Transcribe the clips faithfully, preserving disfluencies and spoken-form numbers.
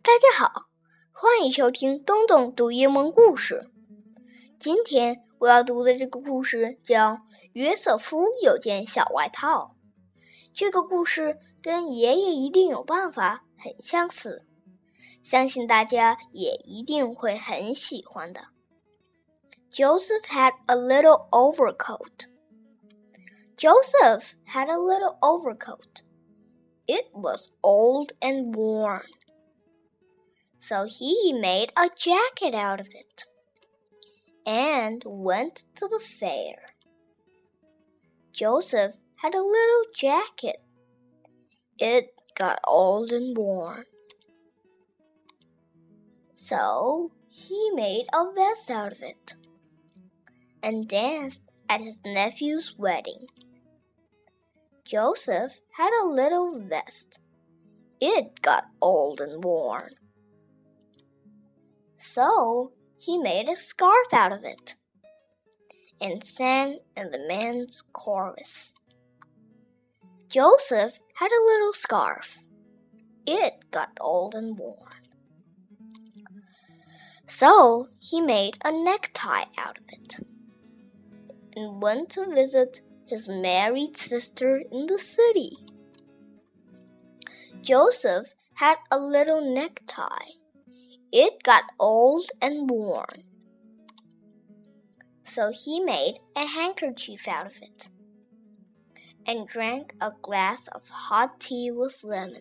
大家好，欢迎收听东东读英文故事。今天我要读的这个故事叫《约瑟夫有件小外套》。这个故事跟爷爷一定有办法很相似，相信大家也一定会很喜欢的。Joseph had a little overcoat. Joseph had a little overcoat. It was old and worn. So he made a jacket out of it and went to the fair. Joseph had a little jacket. It got old and worn. So he made a vest out of it and danced at his nephew's wedding. Joseph had a little vest. It got old and worn. So he made a scarf out of it and sang in the men's chorus. Joseph had a little scarf. It got old and worn. So he made a necktie out of it and went to visit his married sister in the city. Joseph had a little necktie. It got old and worn. So he made a handkerchief out of it and drank a glass of hot tea with lemon.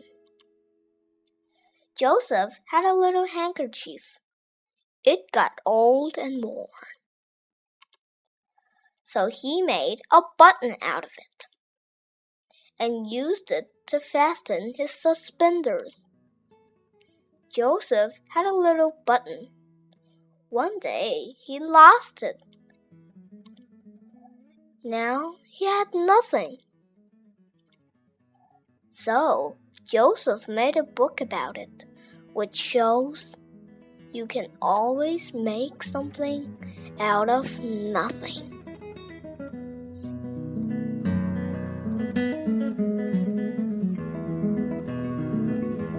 Joseph had a little handkerchief. It got old and worn. So he made a button out of it and used it to fasten his suspenders. Joseph had a little button. One day he lost it. Now he had nothing. So Joseph made a book about it, which shows you can always make something out of nothing.